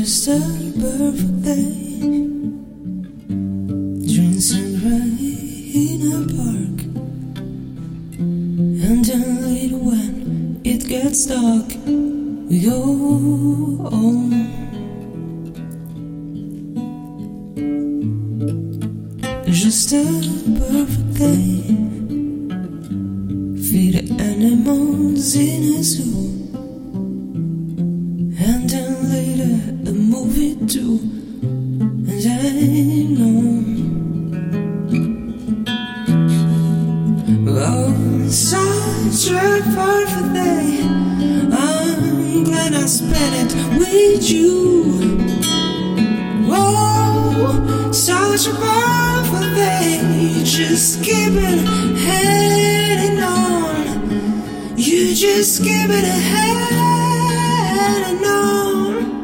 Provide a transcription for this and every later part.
Just a perfect day, drinks and rain in a park, and then later when it gets dark, we go home. Just a perfect day, feed the animals in a zoo, and then later a movie too, and I know. Oh, such a perfect day, I'm glad I spent it with you. Oh, such a perfect day, just keep it heading on. You just keep it heading on.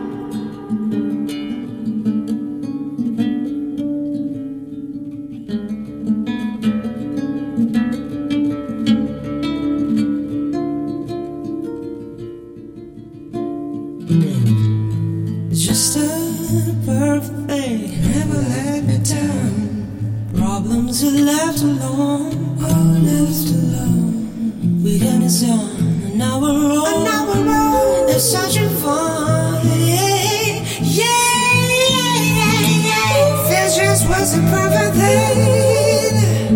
Just a perfect day, never let me down. Problems are left alone, all left alone. Weekend is on, and now we're on. It's such a fun, yeah, yeah, yeah. This just was a perfect day.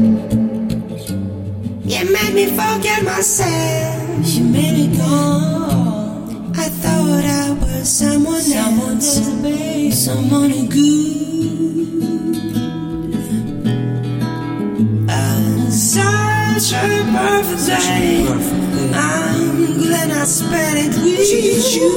You made me forget myself. You made it gone. I thought I was someone else, babe, someone good. Such a perfect day. I'm glad I spent it with you.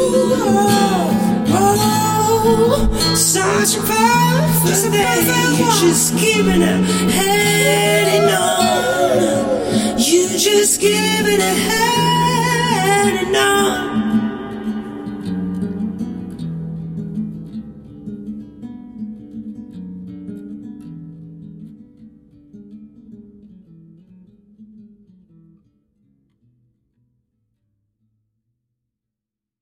Oh, such a perfect day. You're just keeping it heading on. You just keeping it heading on.